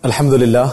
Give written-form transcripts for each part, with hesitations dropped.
Alhamdulillah,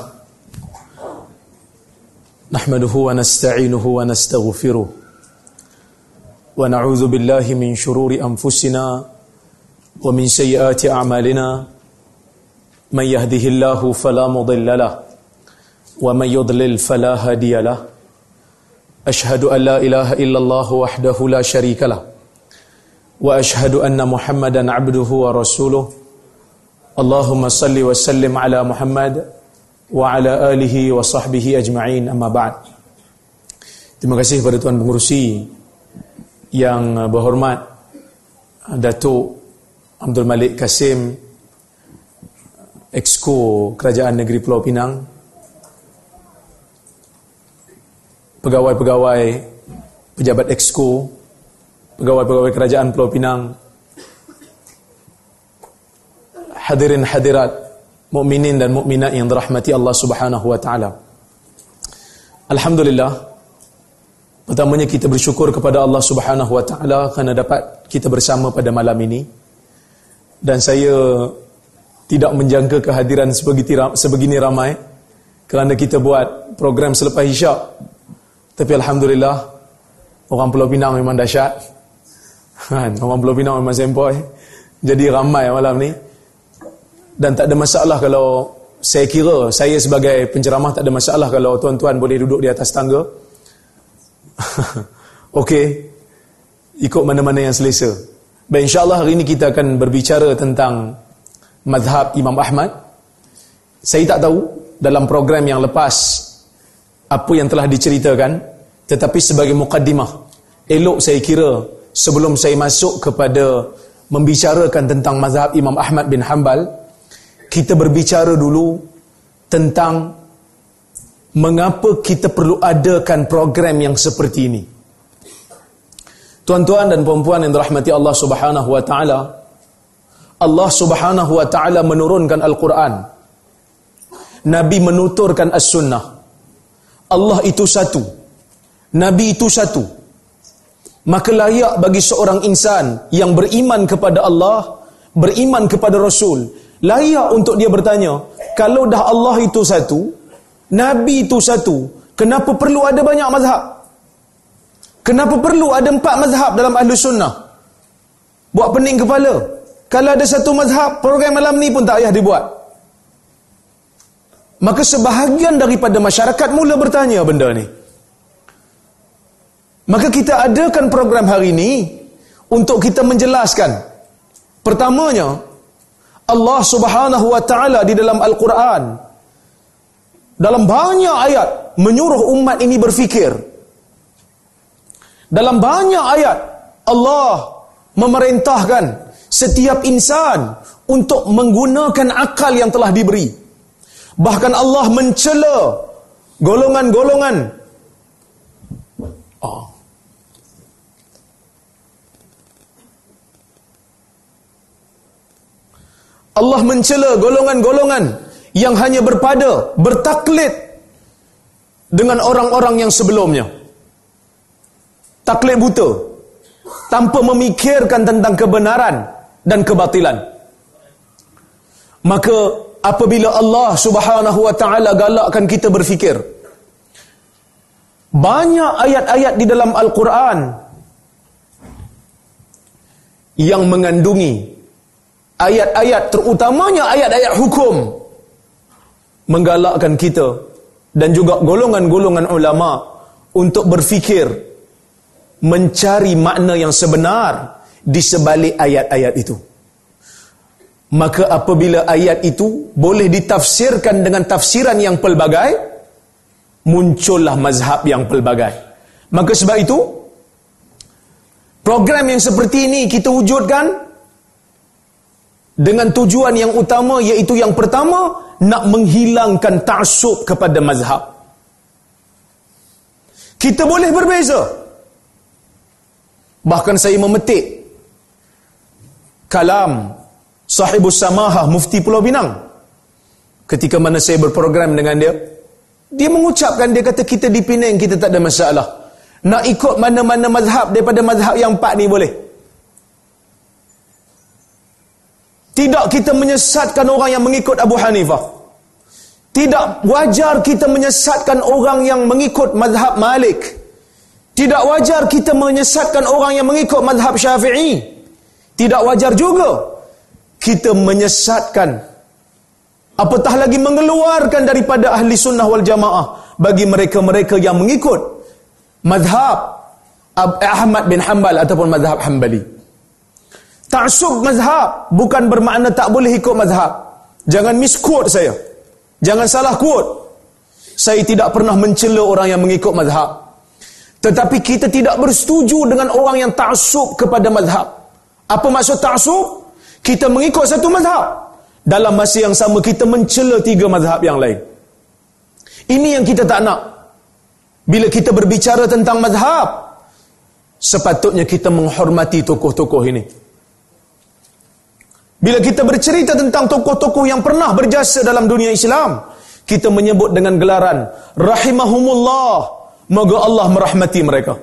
nahmaduhu wa nasta'inuhu wa nastaghfiruh wa na'udzu billahi min shururi anfusina wa min sayyiati a'malina, man yahdihillahu fala mudilla lahu wa man yudlil fala hadiya lahu. Ashhadu an la ilaha illallah wahdahu la syarika lahu wa ashhadu anna Muhammadan 'abduhu wa rasuluh. Allahumma salli wa sallim ala Muhammad wa ala alihi wa sahbihi ajma'in, amma ba'd. Terima kasih kepada Tuan Pengerusi yang berhormat Datuk Abdul Malik Kasim, Exco Kerajaan Negeri Pulau Pinang, pegawai-pegawai pejabat Exco, pegawai-pegawai Kerajaan Pulau Pinang, hadirin hadirat, mukminin dan mukminat yang dirahmati Allah Subhanahu wa taala. Alhamdulillah, pertamanya kita bersyukur kepada Allah Subhanahu wa taala kerana dapat kita bersama pada malam ini. Dan saya tidak menjangka kehadiran sebegini ramai kerana kita buat program selepas Isyak. Tapi alhamdulillah, orang Pulau Pinang memang dahsyat. Orang Pulau Pinang memang sempoi. Jadi ramai malam ni. Dan tak ada masalah kalau saya kira, saya sebagai penceramah tak ada masalah kalau tuan-tuan boleh duduk di atas tangga. Okey, ikut mana-mana yang selesa. Baik, insyaAllah hari ini kita akan berbicara tentang mazhab Imam Ahmad. Saya tak tahu dalam program yang lepas apa yang telah diceritakan, tetapi sebagai mukaddimah, elok saya kira sebelum saya masuk kepada membicarakan tentang mazhab Imam Ahmad bin Hanbal, kita berbicara dulu tentang mengapa kita perlu adakan program yang seperti ini. Tuan-tuan dan puan-puan yang dirahmati Allah Subhanahu wa taala, Allah Subhanahu wa taala menurunkan Al-Quran, Nabi menuturkan As-Sunnah. Allah itu satu, Nabi itu satu. Maka layak bagi seorang insan yang beriman kepada Allah, beriman kepada Rasul, layak untuk dia bertanya, kalau dah Allah itu satu, Nabi itu satu, kenapa perlu ada banyak mazhab? Kenapa perlu ada 4 mazhab dalam Ahlus Sunnah? Buat pening kepala. Kalau ada satu mazhab, program malam ni pun tak payah dibuat. Maka sebahagian daripada masyarakat mula bertanya benda ni. Maka kita adakan program hari ini untuk kita menjelaskan. Pertamanya, Allah Subhanahu wa taala di dalam Al-Quran dalam banyak ayat menyuruh umat ini berfikir. Dalam banyak ayat Allah memerintahkan setiap insan untuk menggunakan akal yang telah diberi. Bahkan Allah mencela golongan-golongan Allah mencela golongan-golongan yang hanya bertaklid dengan orang-orang yang sebelumnya. Taklid buta, tanpa memikirkan tentang kebenaran dan kebatilan. Maka apabila Allah Subhanahu wa taala galakkan kita berfikir, banyak ayat-ayat di dalam Al-Quran yang mengandungi ayat-ayat, terutamanya ayat-ayat hukum, menggalakkan kita dan juga golongan-golongan ulama untuk berfikir, mencari makna yang sebenar di sebalik ayat-ayat itu. Maka apabila ayat itu boleh ditafsirkan dengan tafsiran yang pelbagai, muncullah mazhab yang pelbagai. Maka sebab itu, program yang seperti ini kita wujudkan dengan tujuan yang utama, iaitu yang pertama, nak menghilangkan ta'assub kepada mazhab. Kita boleh berbeza. Bahkan saya memetik kalam Sahibus Samahah, Mufti Pulau Pinang. Ketika mana saya berprogram dengan dia, dia mengucapkan, dia kata kita di Penang kita tak ada masalah. Nak ikut mana-mana mazhab daripada mazhab yang 4 ni boleh. Tidak kita menyesatkan orang yang mengikut Abu Hanifah. Tidak wajar kita menyesatkan orang yang mengikut mazhab Malik. Tidak wajar kita menyesatkan orang yang mengikut mazhab Syafi'i. Tidak wajar juga kita menyesatkan, apatah lagi mengeluarkan daripada ahli sunnah wal jamaah bagi mereka-mereka yang mengikut mazhab Ahmad bin Hanbal ataupun mazhab Hanbali. Ta'assub mazhab bukan bermakna tak boleh ikut mazhab. Jangan misquote saya. Jangan salah quote. Saya tidak pernah mencela orang yang mengikut mazhab. Tetapi kita tidak bersetuju dengan orang yang ta'assub kepada mazhab. Apa maksud ta'assub? Kita mengikut satu mazhab. Dalam masa yang sama kita mencela 3 mazhab yang lain. Ini yang kita tak nak. Bila kita berbicara tentang mazhab, sepatutnya kita menghormati tokoh-tokoh ini. Bila kita bercerita tentang tokoh-tokoh yang pernah berjasa dalam dunia Islam, kita menyebut dengan gelaran rahimahumullah, moga Allah merahmati mereka.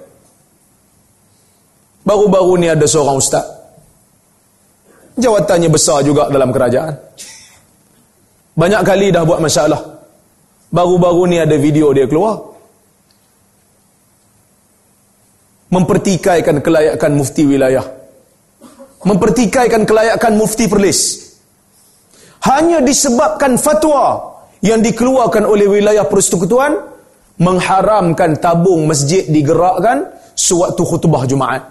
Baru-baru ni ada seorang ustaz, jawatannya besar juga dalam kerajaan, banyak kali dah buat masalah. Baru-baru ni ada video dia keluar mempertikaikan kelayakan mufti wilayah, mempertikaikan kelayakan mufti Perlis, hanya disebabkan fatwa yang dikeluarkan oleh wilayah persekutuan mengharamkan tabung masjid digerakkan sewaktu khutbah Jumaat.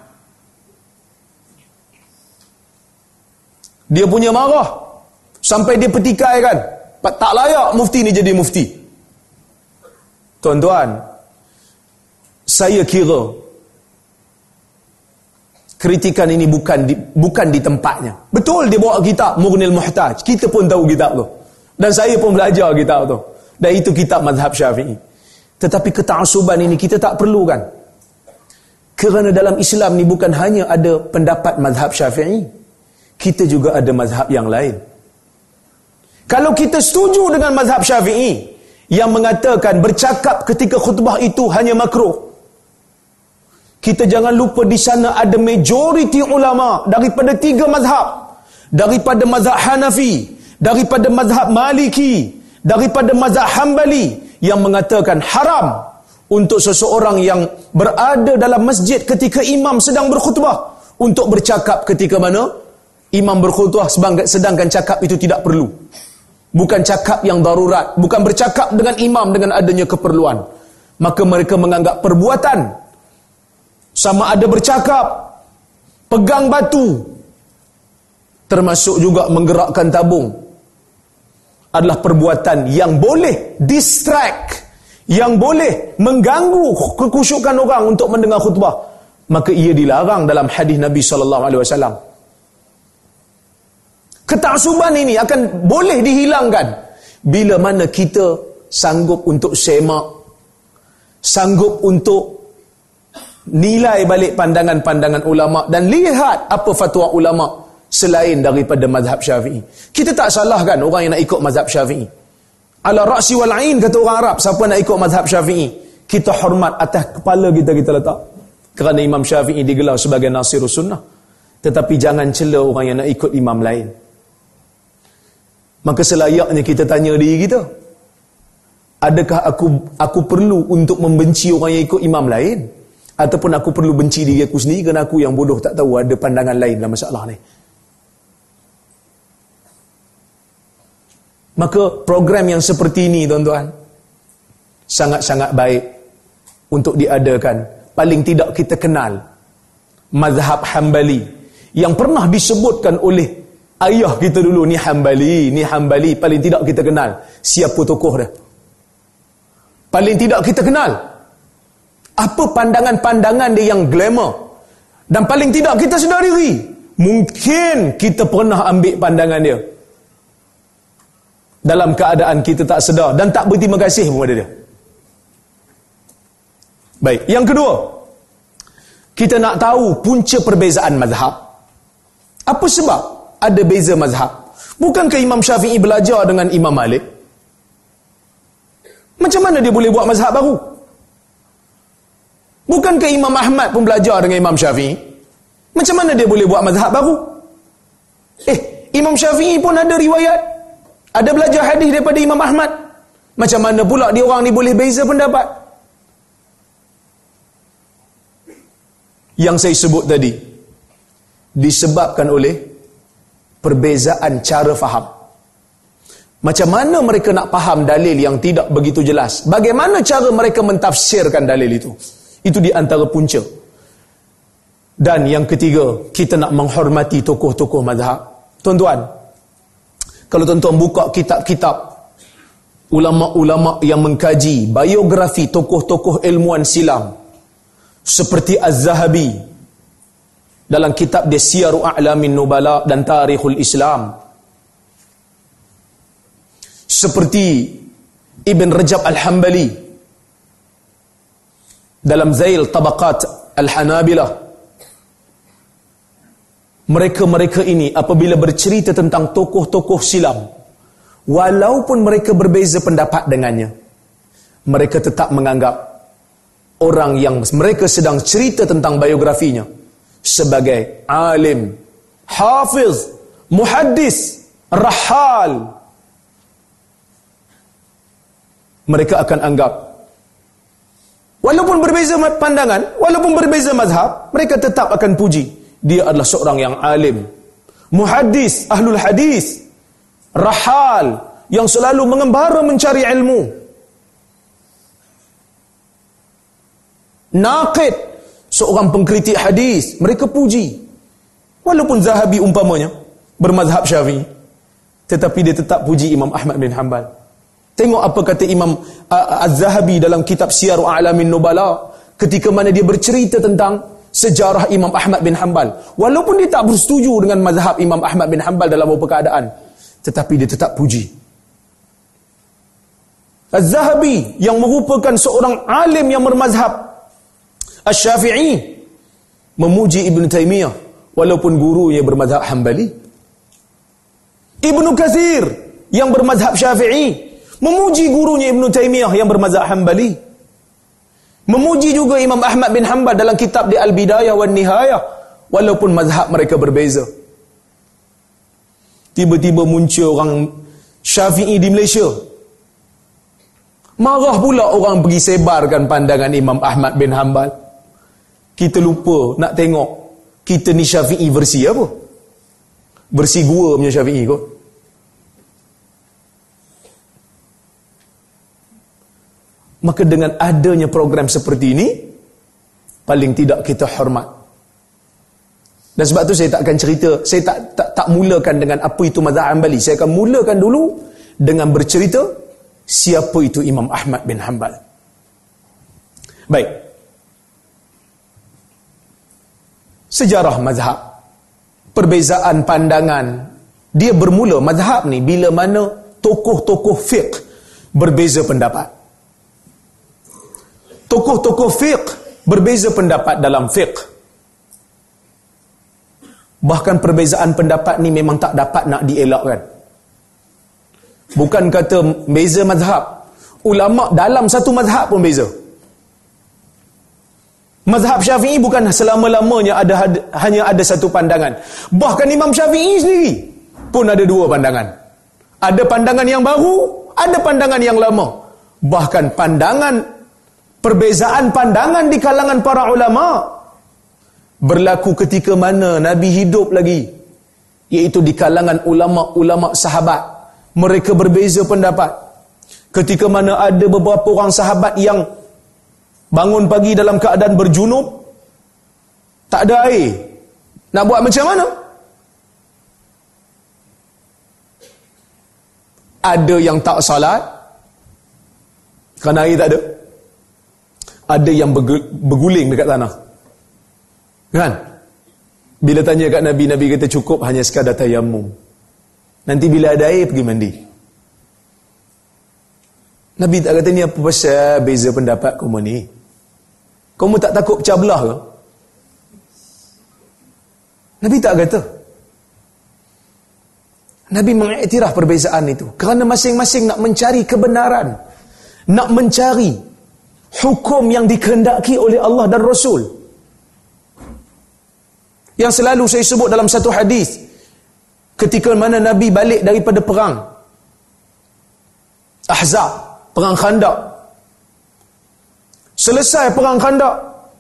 Dia punya marah sampai dia pertikaikan, tak layak mufti ni jadi mufti. Tuan-tuan, saya kira kritikan ini bukan di tempatnya. Betul dia bawa kitab Mughnil Muhtaj, kita pun tahu kitab tu, dan saya pun belajar kitab tu, dan itu kitab mazhab Syafi'i. Tetapi keta'asuban ini kita tak perlukan, kerana dalam Islam ni bukan hanya ada pendapat mazhab Syafi'i, kita juga ada mazhab yang lain. Kalau kita setuju dengan mazhab Syafi'i yang mengatakan bercakap ketika khutbah itu hanya makruh, kita jangan lupa di sana ada majoriti ulama daripada 3 mazhab, daripada mazhab Hanafi, daripada mazhab Maliki, daripada mazhab Hanbali, yang mengatakan haram untuk seseorang yang berada dalam masjid ketika imam sedang berkhutbah untuk bercakap ketika mana imam berkhutbah, sedangkan cakap itu tidak perlu. Bukan cakap yang darurat, bukan bercakap dengan imam dengan adanya keperluan. Maka mereka menganggap perbuatan sama ada bercakap, pegang batu, termasuk juga menggerakkan tabung, adalah perbuatan yang boleh distract, yang boleh mengganggu kekhusyukan orang untuk mendengar khutbah. Maka ia dilarang dalam hadis Nabi SAW. Keta'asuban ini akan boleh dihilangkan bila mana kita sanggup untuk semak, sanggup untuk nilai balik pandangan-pandangan ulama dan lihat apa fatwa ulama selain daripada mazhab Syafi'i. Kita tak salahkan orang yang nak ikut mazhab Syafi'i. Ala ra'si wal 'ain kata orang Arab, siapa nak ikut mazhab Syafi'i, kita hormat, atas kepala kita letak. Kerana Imam Syafi'i digelar sebagai Nasirus Sunnah. Tetapi jangan cela orang yang nak ikut imam lain. Maka selayaknya kita tanya diri kita, adakah aku perlu untuk membenci orang yang ikut imam lain, ataupun aku perlu benci diri aku sendiri kerana aku yang bodoh tak tahu ada pandangan lain dalam masalah ni. Maka program yang seperti ini, tuan-tuan, sangat-sangat baik untuk diadakan. Paling tidak kita kenal mazhab Hanbali yang pernah disebutkan oleh ayah kita dulu, ni Hanbali. Paling tidak kita kenal siapa tokoh dia. Paling tidak kita kenal apa pandangan-pandangan dia yang glamour. Dan paling tidak kita sedar diri, mungkin kita pernah ambil pandangan dia dalam keadaan kita tak sedar dan tak berterima kasih kepada dia. Baik, yang kedua, kita nak tahu punca perbezaan mazhab. Apa sebab ada beza mazhab? Bukankah Imam Syafi'i belajar dengan Imam Malik? Macam mana dia boleh buat mazhab baru? Bukankah Imam Ahmad pun belajar dengan Imam Syafi'i? Macam mana dia boleh buat mazhab baru? Imam Syafi'i pun ada riwayat, ada belajar hadis daripada Imam Ahmad. Macam mana pula dia orang ni boleh beza pendapat? Yang saya sebut tadi disebabkan oleh perbezaan cara faham. Macam mana mereka nak faham dalil yang tidak begitu jelas? Bagaimana cara mereka mentafsirkan dalil itu? Itu di antara punca. Dan yang ketiga, kita nak menghormati tokoh-tokoh mazhab. Tuan-tuan, kalau tuan-tuan buka kitab-kitab ulama-ulama yang mengkaji biografi tokoh-tokoh ilmuwan silam seperti Az-Zahabi dalam kitab dia Siyaru A'lamin Nubala dan Tarikhul Islam, seperti Ibn Rajab Al-Hambali dalam Zail Tabaqat Al-Hanabilah. Mereka-mereka ini apabila bercerita tentang tokoh-tokoh silam, walaupun mereka berbeza pendapat dengannya, mereka tetap menganggap orang yang mereka sedang cerita tentang biografinya sebagai alim, hafiz, muhaddis, rahal. Mereka akan anggap, walaupun berbeza pandangan, walaupun berbeza mazhab, mereka tetap akan puji dia adalah seorang yang alim, muhaddis, ahlul hadis, rahal, yang selalu mengembara mencari ilmu, naqid, seorang pengkritik hadis. Mereka puji. Walaupun Zahabi umpamanya bermazhab Syafi'i, tetapi dia tetap puji Imam Ahmad bin Hanbal. Tengok apa kata Imam Az-Zahabi dalam kitab Siyaru A'lamin Nubala ketika mana dia bercerita tentang sejarah Imam Ahmad bin Hanbal. Walaupun dia tak bersetuju dengan mazhab Imam Ahmad bin Hanbal dalam beberapa keadaan, tetapi dia tetap puji. Az-Zahabi yang merupakan seorang alim yang bermazhab Asy-Syafi'i memuji Ibn Taymiyah walaupun gurunya bermazhab Hanbali. Ibnu Katsir yang bermazhab Syafi'i memuji gurunya Ibn Taymiyah yang bermazhab Hanbali. Memuji juga Imam Ahmad bin Hanbal dalam kitab di Al-Bidayah wan Nihayah walaupun mazhab mereka berbeza. Tiba-tiba muncul orang Syafi'i di Malaysia, marah pula orang pergi sebarkan pandangan Imam Ahmad bin Hanbal. Kita lupa nak tengok kita ni Syafi'i versi apa? Versi gua punya Syafi'i kot. Maka dengan adanya program seperti ini, paling tidak kita hormat. Dan sebab tu saya tak akan cerita, saya tak mulakan dengan apa itu mazhab Hanbali. Saya akan mulakan dulu dengan bercerita siapa itu Imam Ahmad bin Hanbal. Baik. Sejarah mazhab, perbezaan pandangan, dia bermula mazhab ni bila mana tokoh-tokoh fiqh berbeza pendapat. Tokoh-tokoh fiqh berbeza pendapat dalam fiqh. Bahkan perbezaan pendapat ni memang tak dapat nak dielakkan. Bukan kata beza mazhab, ulama dalam satu mazhab pun beza. Mazhab Syafi'i bukan selama-lamanya hanya ada satu pandangan. Bahkan Imam Syafi'i sendiri pun ada dua pandangan. Ada pandangan yang baru, ada pandangan yang lama. Bahkan perbezaan pandangan di kalangan para ulama berlaku ketika mana Nabi hidup lagi, iaitu di kalangan ulama-ulama sahabat. Mereka berbeza pendapat. Ketika mana ada beberapa orang sahabat yang bangun pagi dalam keadaan berjunub, tak ada air, nak buat macam mana? Ada yang tak salat kerana air tak ada. Ada yang berguling dekat tanah. Kan? Bila tanya kat Nabi, Nabi kata cukup hanya sekadar tayammum. Nanti bila ada air pergi mandi. Nabi tak kata ni apa pasal beza pendapat kamu ni? Kamu tak takut pecah belah ke? Nabi tak kata. Nabi mengiktiraf perbezaan itu kerana masing-masing nak mencari kebenaran, nak mencari hukum yang dikehendaki oleh Allah dan Rasul. Yang selalu saya sebut dalam satu hadis, ketika mana Nabi balik daripada perang Ahzab, Perang Khandaq. Selesai perang Khandaq,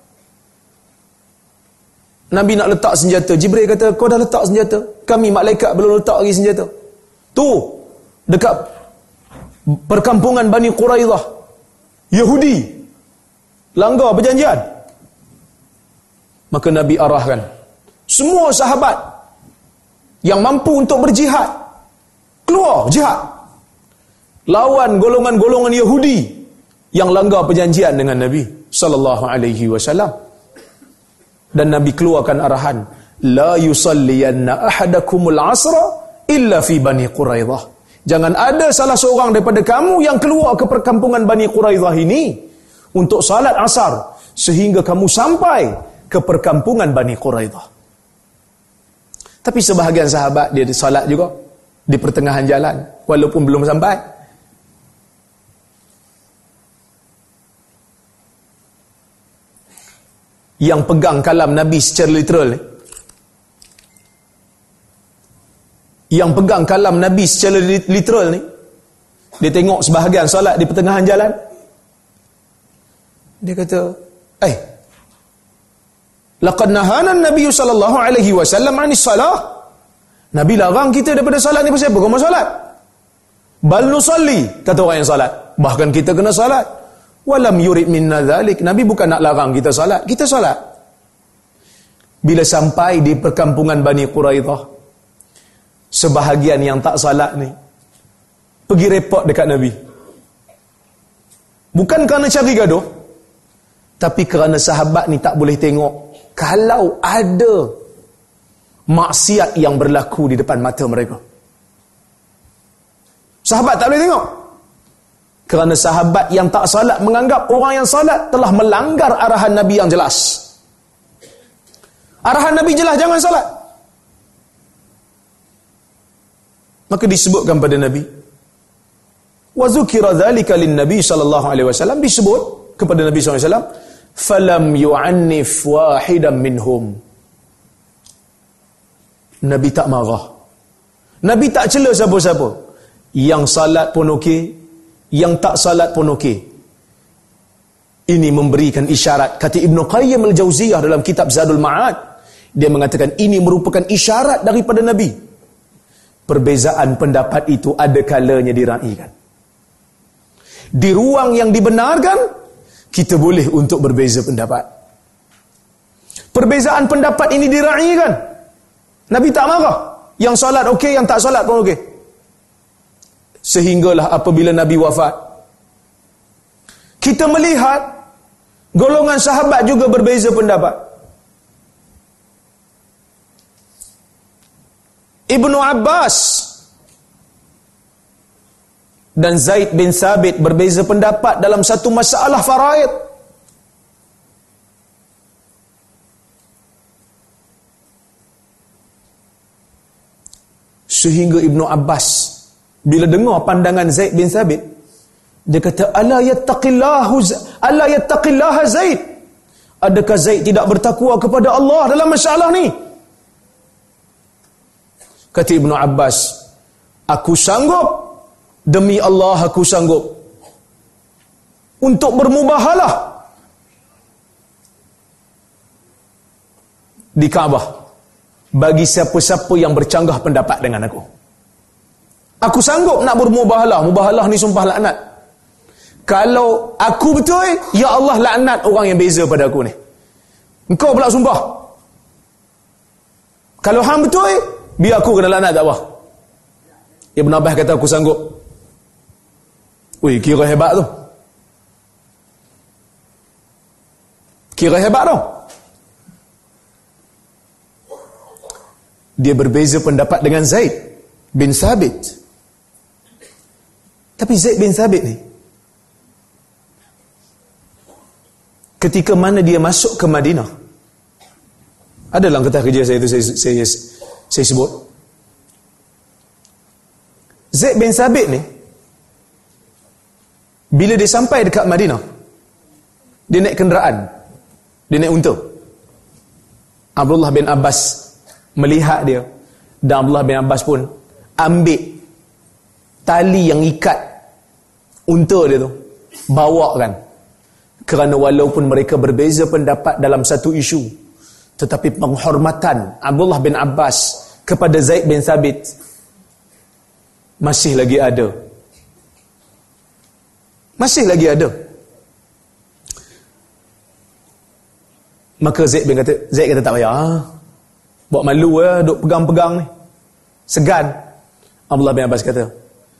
Nabi nak letak senjata. Jibril kata, kau dah letak senjata? Kami malaikat belum letak lagi senjata. Tu, dekat perkampungan Bani Quraidah, Yahudi langgar perjanjian. Maka Nabi arahkan semua sahabat yang mampu untuk berjihad, keluar jihad lawan golongan-golongan Yahudi yang langgar perjanjian dengan Nabi sallallahu alaihi wasallam. Dan Nabi keluarkan arahan, la yusalliyanna ahadakumul asra illa fi Bani Quraidah. Jangan ada salah seorang daripada kamu yang keluar ke perkampungan Bani Quraidah ini untuk salat asar sehingga kamu sampai ke perkampungan Bani Quraidah. Tapi sebahagian sahabat dia salat juga di pertengahan jalan walaupun belum sampai. Yang pegang kalam Nabi secara literal ni, yang pegang kalam Nabi secara literal ni, dia tengok sebahagian salat di pertengahan jalan, dia kata, laqad nahana an-nabiy sallallahu alaihi wasallam 'anis salah. Nabi larang kita daripada salat ni. Pasal apa kau mau salat? Bal nusalli, kata orang yang salat, bahkan kita kena salat. Walam yurid minna dhalik. Nabi bukan nak larang kita salat, kita salat. Bila sampai di perkampungan Bani Quraidah, sebahagian yang tak salat ni pergi report dekat Nabi. Bukan kerana cari gaduh, tapi kerana sahabat ni tak boleh tengok kalau ada maksiat yang berlaku di depan mata mereka. Sahabat tak boleh tengok. Kerana sahabat yang tak salat menganggap orang yang salat telah melanggar arahan Nabi yang jelas. Arahan Nabi jelas, jangan salat. Maka disebutkan pada Nabi, wa dzukira dzalika lin-nabi sallallahu alaihi wasallam, disebut kepada Nabi sallallahu alaihi wasallam, falam yu'annif wahidan minhum. Nabi tak marah. Nabi tak cela siapa-siapa. Yang salat pun okey, yang tak salat pun okey. Ini memberikan isyarat. Kata Ibn Qayyim al-Jauziyah dalam kitab Zadul Ma'ad, dia mengatakan ini merupakan isyarat daripada Nabi. Perbezaan pendapat itu ada kalanya diraikan. Di ruang yang dibenarkan, kita boleh untuk berbeza pendapat. Perbezaan pendapat ini diraikan. Nabi tak marah. Yang salat okey, yang tak salat pun okey. Sehinggalah apabila Nabi wafat, kita melihat golongan sahabat juga berbeza pendapat. Ibnu Abbas dan Zaid bin Thabit berbeza pendapat dalam satu masalah faraid. Sehingga Ibnu Abbas bila dengar pandangan Zaid bin Thabit, dia kata, ala yattaqillaha Zaid. Adakah Zaid tidak bertakwa kepada Allah dalam masalah ni? Kata Ibnu Abbas, aku sanggup, demi Allah aku sanggup untuk bermubahalah di Kaabah bagi siapa-siapa yang bercanggah pendapat dengan aku. Aku sanggup nak bermubahalah. Mubahalah ni sumpah laknat. Kalau aku betul, ya Allah laknat orang yang beza pada aku ni. Engkau pula sumpah. Kalau hang betul, biar aku kena laknat tak apa. Ibn Abbas kata aku sanggup. Ui, kira hebat tu. Kira hebat tu. Dia berbeza pendapat dengan Zaid bin Thabit. Tapi Zaid bin Thabit ni, ketika mana dia masuk ke Madinah, ada dalam kertas kerja saya itu saya sebut, Zaid bin Thabit ni, bila dia sampai dekat Madinah, dia naik kenderaan, dia naik unta. Abdullah bin Abbas melihat dia, dan Abdullah bin Abbas pun ambil tali yang ikat unta dia tu, bawa kan. Kerana walaupun mereka berbeza pendapat dalam satu isu, tetapi penghormatan Abdullah bin Abbas kepada Zaid bin Thabit masih lagi ada. Masih lagi ada. Maka Zaid kata tak payah. Buat malu duk pegang-pegang ni. Segan. Abdullah bin Abbas kata,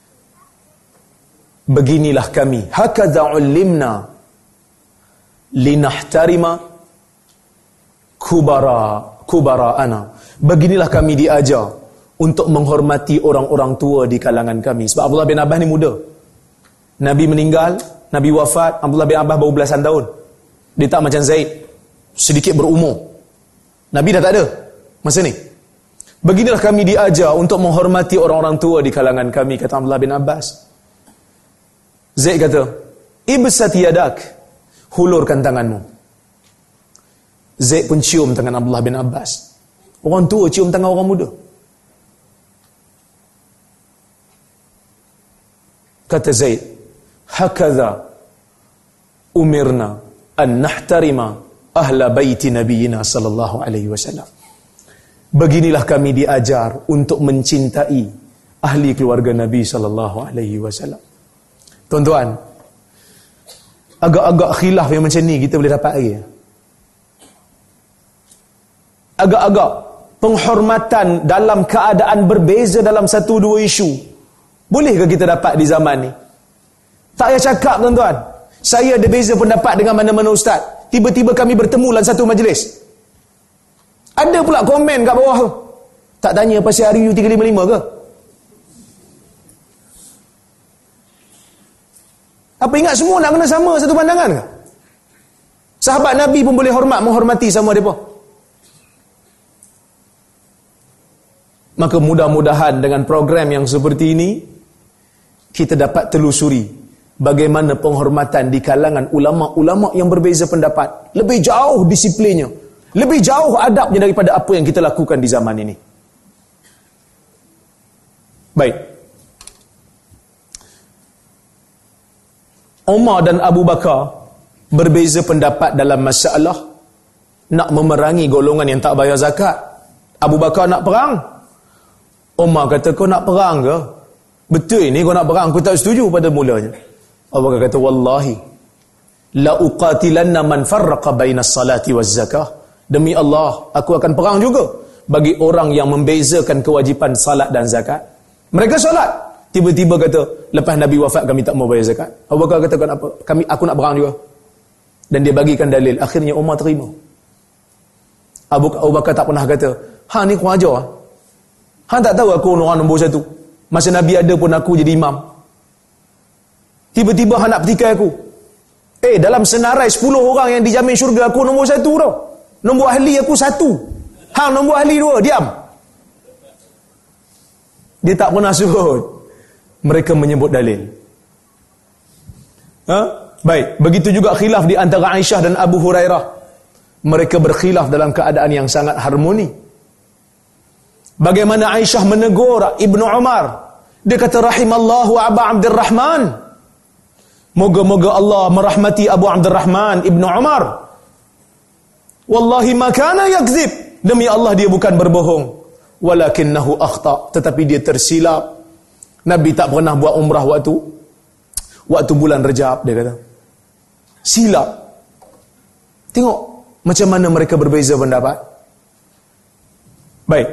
beginilah kami, hakadha ulimna linahtarima kubara'ana. Beginilah kami diajar untuk menghormati orang-orang tua di kalangan kami. Sebab Abdullah bin Abbas ni muda. Nabi meninggal, Nabi wafat, Abdullah bin Abbas baru belasan tahun. Dia tak macam Zaid, sedikit berumur. Nabi dah tak ada masa ni. Beginilah kami diajar untuk menghormati orang-orang tua di kalangan kami, kata Abdullah bin Abbas. Zaid kata, ibsat yadak, hulurkan tanganmu. Zaid pun cium tangan Abdullah bin Abbas. Orang tua cium tangan orang muda. Kata Zaid, hakadha umirna an nahtarima ahla baiti nabiyina sallallahu alaihi wasallam. Beginilah kami diajar untuk mencintai ahli keluarga Nabi sallallahu alaihi wasallam. Tuan-tuan, agak-agak khilaf yang macam ni kita boleh dapat lagi. Agak-agak penghormatan dalam keadaan berbeza dalam satu dua isu, bolehkah kita dapat di zaman ni? Tak payah cakap tuan-tuan, saya ada beza pendapat dengan mana-mana ustaz, tiba-tiba kami bertemu dalam satu majlis. Ada pula komen kat bawah tu, tak tanya pasal RU 355 ke? Apa ingat semua nak kena sama satu pandangan ke? Sahabat Nabi pun boleh menghormati sama mereka. Maka mudah-mudahan dengan program yang seperti ini, kita dapat telusuri bagaimana penghormatan di kalangan ulama-ulama yang berbeza pendapat. Lebih jauh disiplinnya, lebih jauh adabnya daripada apa yang kita lakukan di zaman ini. Baik. Umar dan Abu Bakar berbeza pendapat dalam masalah nak memerangi golongan yang tak bayar zakat. Abu Bakar nak perang, Umar kata, kau nak perang ke? Betul ni kau nak perang, aku tak setuju pada mulanya. Abu Bakar kata, wallahi la uqatilanna man farraqa baina salati waz zakah. Demi Allah, aku akan perang juga bagi orang yang membezakan kewajipan salat dan zakat. Mereka solat, tiba-tiba kata, lepas Nabi wafat kami tak mau bayar zakat. Abu Bakar kata, kenapa? Aku nak perang juga. Dan dia bagikan dalil. Akhirnya Umar terima. Abu Bakar tak pernah kata, hang ni kurang ajar. Hang tak tahu aku orang nombor satu. Masa Nabi ada pun aku jadi imam. Tiba-tiba hang nak petikai aku. Dalam senarai 10 orang yang dijamin syurga, aku nombor satu tau. Nombor ahli aku 1. Hang nombor ahli 2, diam. Dia tak pernah sebut. Mereka menyebut dalil. Baik, begitu juga khilaf di antara Aisyah dan Abu Hurairah. Mereka berkhilaf dalam keadaan yang sangat harmoni. Bagaimana Aisyah menegur Ibnu Umar. Dia kata, rahimallahu Aba Abdurrahman. Moga-moga Allah merahmati Abu Abdurrahman Ibnu Umar. Wallahi ma kana yakzib. Demi Allah dia bukan berbohong. Walakinnahu akhta. Tetapi dia tersilap. Nabi tak pernah buat umrah waktu bulan Rejab, dia kata. Silap. Tengok macam mana mereka berbeza pendapat. Baik.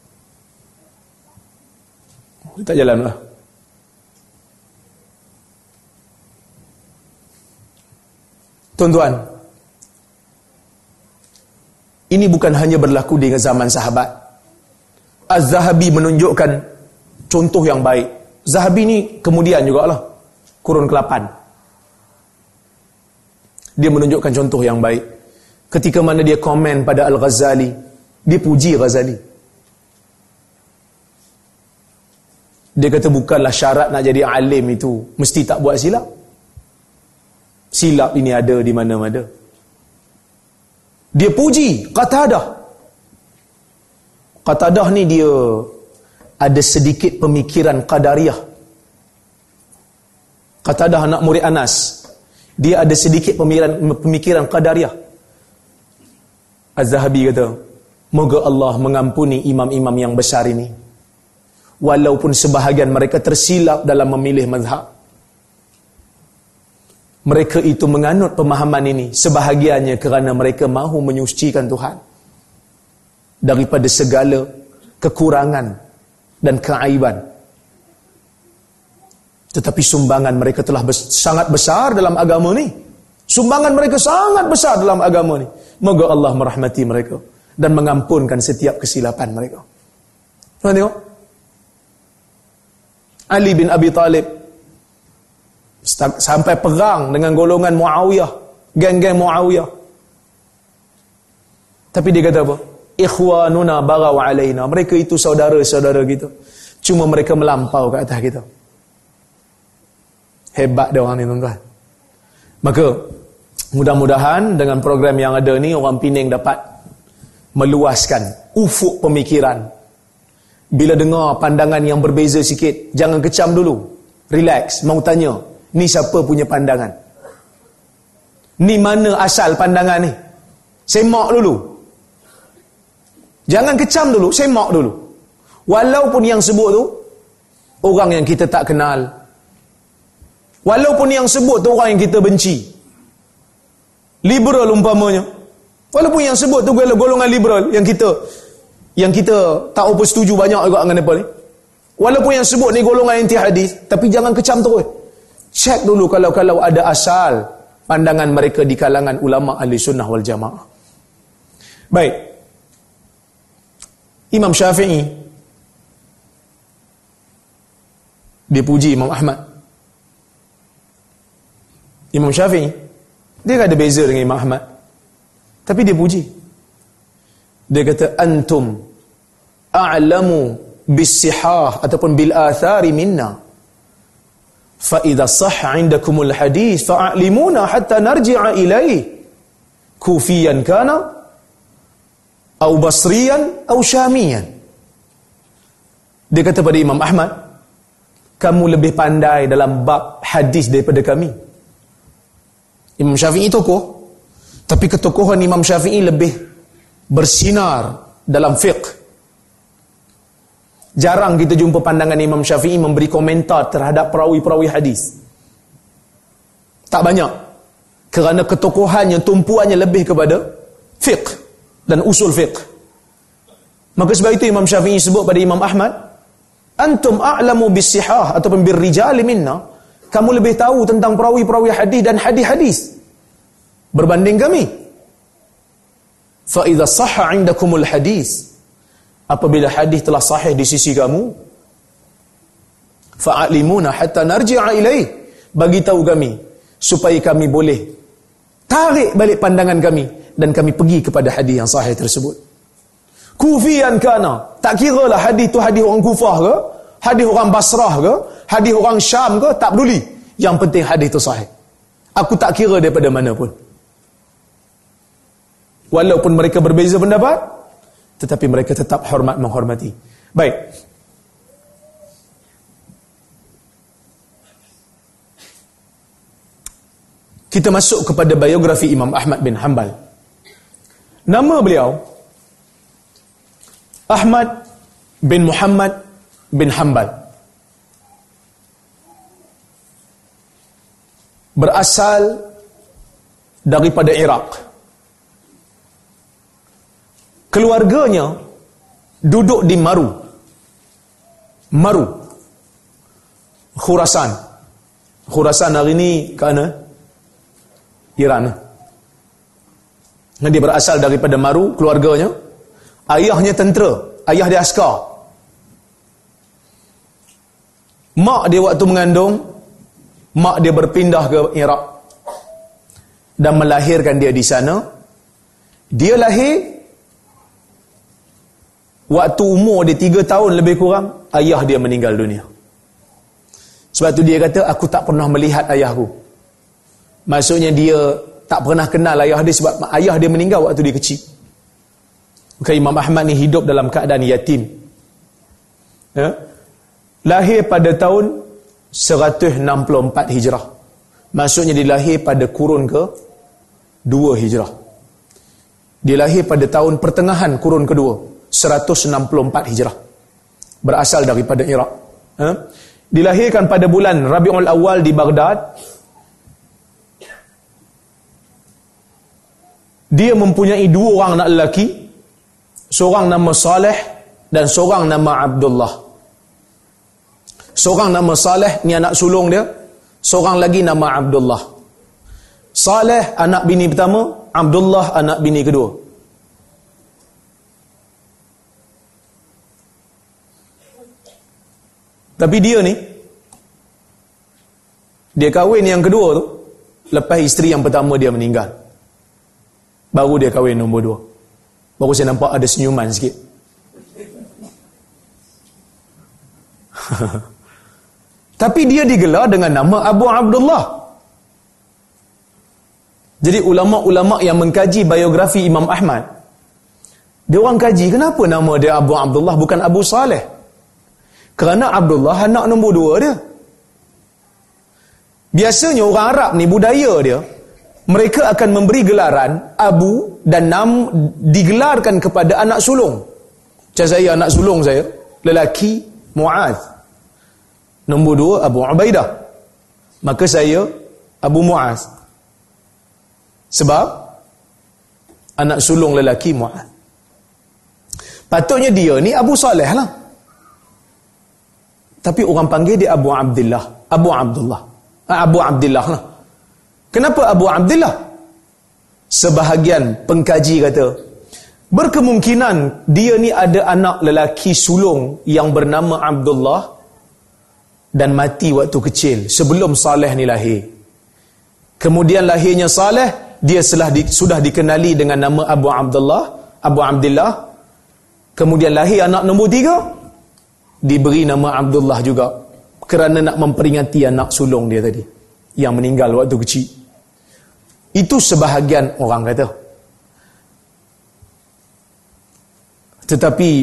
Tak jalan lah. Tuan-tuan, ini bukan hanya berlaku di zaman sahabat. Az-Zahabi menunjukkan contoh yang baik. Zahabi ni kemudian jugalah, kurun ke-8. Dia menunjukkan contoh yang baik. Ketika mana dia komen pada Al-Ghazali, dia puji Ghazali. Dia kata bukanlah syarat nak jadi alim itu mesti tak buat silap. Silap ini ada di mana-mana. Dia puji Qatadah. Qatadah ni dia ada sedikit pemikiran Qadariyah. Qatadah anak murid Anas, dia ada sedikit pemikiran Qadariyah. Az-Zahabi kata, moga Allah mengampuni imam-imam yang besar ini, walaupun sebahagian mereka tersilap dalam memilih mazhab. Mereka itu menganut pemahaman ini sebahagiannya kerana mereka mahu menyucikan Tuhan daripada segala kekurangan dan keaiban. Tetapi sumbangan mereka telah sangat besar dalam agama ni. Sumbangan mereka sangat besar dalam agama ni. Moga Allah merahmati mereka dan mengampunkan setiap kesilapan mereka. Tuan tengok, Ali bin Abi Talib sampai perang dengan golongan Muawiyah, geng-geng Muawiyah. Tapi dia kata apa? Ikhwanuna bagaw alaina. Mereka itu saudara-saudara kita, cuma mereka melampau ke atas kita. Hebat dia orang ni, tuan-tuan. Maka mudah-mudahan dengan program yang ada ni, orang Pening dapat meluaskan ufuk pemikiran. Bila dengar pandangan yang berbeza sikit, jangan kecam dulu. Relax, mau tanya, ni siapa punya pandangan? Ni mana asal pandangan ni? Semak dulu. Jangan kecam dulu, semak dulu. Walaupun yang sebut tu orang yang kita tak kenal, walaupun yang sebut tu orang yang kita benci, liberal umpamanya, walaupun yang sebut tu golongan liberal yang kita tak apa setuju banyak juga dengan apa ni, walaupun yang sebut ni golongan anti hadis, tapi jangan kecam terus. Cek dulu kalau ada asal pandangan mereka di kalangan ulama ahli sunnah wal jamaah. Baik, Imam Syafi'i dia puji Imam Ahmad. Imam Syafi'i dia tak ada beza dengan Imam Ahmad, tapi dia puji. Dia kata, antum a'lamu bis-sihah ataupun bil-athari minna, fa idza sahha 'indakumul hadis fa'alimuna hatta narji'a ilayhi, kufiyan kana aw basriyan aw syamiyan. Dia kata pada Imam Ahmad, kamu lebih pandai dalam bab hadis daripada kami. Imam Syafi'i tokoh, tapi ketokohan Imam Syafi'i lebih bersinar dalam fiqh. Jarang kita jumpa pandangan Imam Syafi'i memberi komentar terhadap perawi-perawi hadis. Tak banyak. Kerana ketokohannya, tumpuannya lebih kepada fiqh dan usul fiqh. Maka sebab itu Imam Syafi'i sebut pada Imam Ahmad, antum a'lamu bis-sihah ataupun bir-rijali minna, kamu lebih tahu tentang perawi-perawi hadis dan hadis-hadis berbanding kami. Fa idza sahha 'indakumul hadis, apabila hadis telah sahih di sisi kamu, fa'alimuna hatta narji'a ilaih, bagi tahu kami supaya kami boleh tarik balik pandangan kami dan kami pergi kepada hadis yang sahih tersebut. Kufiyan kana, tak kira lah hadis tu hadis orang Kufah ke, hadis orang Basrah ke, hadis orang Syam ke, tak peduli. Yang penting hadis tu sahih. Aku tak kira daripada mana pun. Walaupun mereka berbeza pendapat, tetapi mereka tetap menghormati. Baik. Kita masuk kepada biografi Imam Ahmad bin Hanbal. Nama beliau Ahmad bin Muhammad bin Hanbal. Berasal daripada Iraq. Keluarganya duduk di Maru, Khurasan. Khurasan hari ini ke mana? Iran. Dia berasal daripada Maru, keluarganya. Ayahnya tentera, ayah dia askar. Mak dia waktu mengandung, mak dia berpindah ke Iraq dan melahirkan dia di sana. Dia lahir waktu umur dia 3 tahun lebih kurang, ayah dia meninggal dunia. Sebab tu dia kata, aku tak pernah melihat ayahku. Maksudnya dia tak pernah kenal ayah dia sebab ayah dia meninggal waktu dia kecil. Maka Imam Ahmad ni hidup dalam keadaan yatim. Ya? Lahir pada tahun 164 Hijrah. Maksudnya dia lahir pada kurun ke-2 Hijrah. Dia lahir pada tahun pertengahan kurun kedua, 164 Hijrah. Berasal daripada Iraq. Dilahirkan pada bulan Rabiul Awal di Baghdad. Dia mempunyai 2 orang anak lelaki. Seorang nama Saleh dan seorang nama Abdullah. Seorang nama Saleh, ni anak sulung dia. Seorang lagi nama Abdullah. Saleh anak bini pertama, Abdullah anak bini kedua. Tapi dia ni, dia kahwin yang kedua tu lepas isteri yang pertama dia meninggal. Baru dia kahwin nombor 2. Baru saya nampak ada senyuman sikit. Tapi dia digelar dengan nama Abu Abdullah. Jadi ulama-ulama yang mengkaji biografi Imam Ahmad, dia orang kaji kenapa nama dia Abu Abdullah bukan Abu Saleh. Kerana Abdullah anak nombor 2 dia. Biasanya orang Arab ni budaya dia, mereka akan memberi gelaran Abu dan digelarkan kepada anak sulung. Macam saya, anak sulung saya lelaki Muaz, nombor 2 Abu Ubaidah, maka saya Abu Muaz, sebab anak sulung lelaki Muaz. Patutnya dia ni Abu Saleh lah, tapi orang panggil dia Abu Abdullah. Abu Abdullah lah. Kenapa Abu Abdullah? Sebahagian pengkaji kata, berkemungkinan dia ni ada anak lelaki sulung yang bernama Abdullah dan mati waktu kecil sebelum Saleh ni lahir. Kemudian lahirnya Saleh, dia sudah dikenali dengan nama Abu Abdullah. Kemudian lahir anak nombor 3, diberi nama Abdullah juga, kerana nak memperingati anak sulung dia tadi yang meninggal waktu kecil. Itu sebahagian orang kata. Tetapi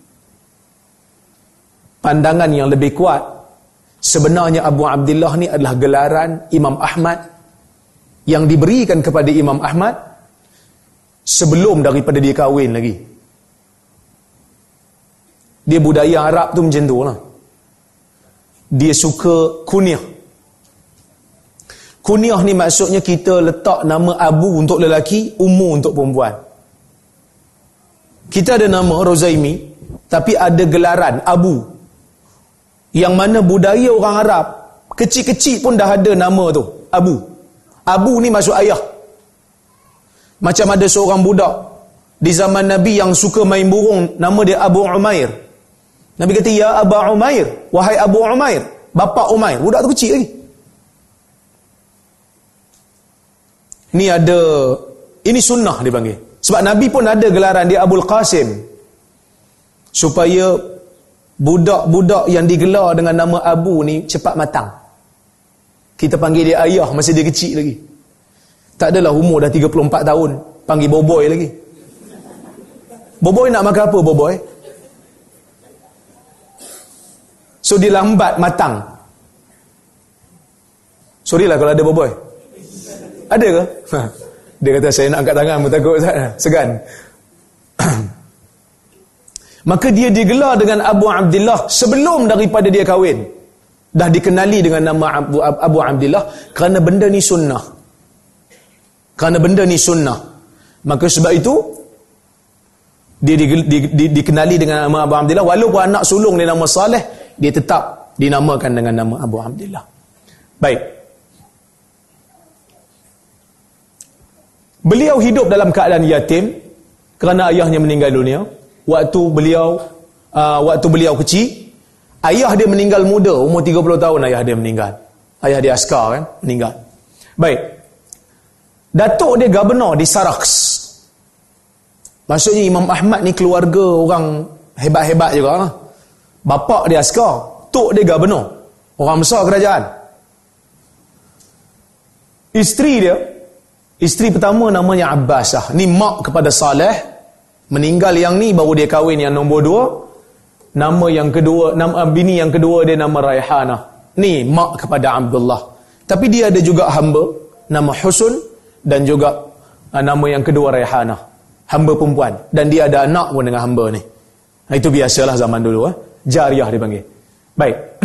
pandangan yang lebih kuat, sebenarnya Abu Abdullah ni adalah gelaran Imam Ahmad yang diberikan kepada Imam Ahmad sebelum daripada dia kahwin lagi. Dia budaya Arab tu macam tu lah. Dia suka kunyah. Kunyah ni maksudnya kita letak nama Abu untuk lelaki, Ummu untuk perempuan. Kita ada nama Rozaimi, tapi ada gelaran Abu, yang mana budaya orang Arab kecil-kecil pun dah ada nama tu, Abu. Abu ni maksud ayah. Macam ada seorang budak di zaman Nabi yang suka main burung, nama dia Abu Umair. Nabi kata, ya Abu Umair, wahai Abu Umair, bapa Umair. Budak tu kecil lagi. Ni ada, ini sunnah dipanggil. Sebab Nabi pun ada gelaran dia Abul Qasim, supaya budak-budak yang digelar dengan nama Abu ni cepat matang. Kita panggil dia ayah masa dia kecil lagi. Tak adalah umur dah 34 tahun panggil boboy lagi. Boboy nak makan apa boboy? So dia lambat matang. Sorry lah kalau ada boboy. Ada ke? Dia kata saya nak angkat tangan pun takut, segan. Maka dia digelar dengan Abu Abdullah sebelum daripada dia kahwin. Dah dikenali dengan nama Abu Abdullah kerana benda ni sunnah. Maka sebab itu dia dikenali dengan nama Abu Abdullah, walaupun anak sulung dia nama Saleh, dia tetap dinamakan dengan nama Abu Abdullah. Baik. Beliau hidup dalam keadaan yatim kerana ayahnya meninggal dunia. Waktu beliau kecil, ayah dia meninggal muda, umur 30 tahun ayah dia meninggal. Ayah dia askar kan, meninggal. Baik. Datuk dia governor di Saraks. Maksudnya Imam Ahmad ni keluarga orang hebat-hebat juga lah. Bapa dia askar, tok dia governor, orang besar kerajaan. Isteri pertama namanya Abbasah. Ni mak kepada Saleh. Meninggal yang ni, baru dia kahwin yang nombor 2. Nama yang kedua, nama bini yang kedua dia nama Raihanah. Ni mak kepada Abdullah. Tapi dia ada juga hamba nama Husun dan juga nama yang kedua Raihanah, hamba perempuan, dan dia ada anak pun dengan hamba ni. Itu biasalah zaman dulu, jariyah dipanggil. Baik.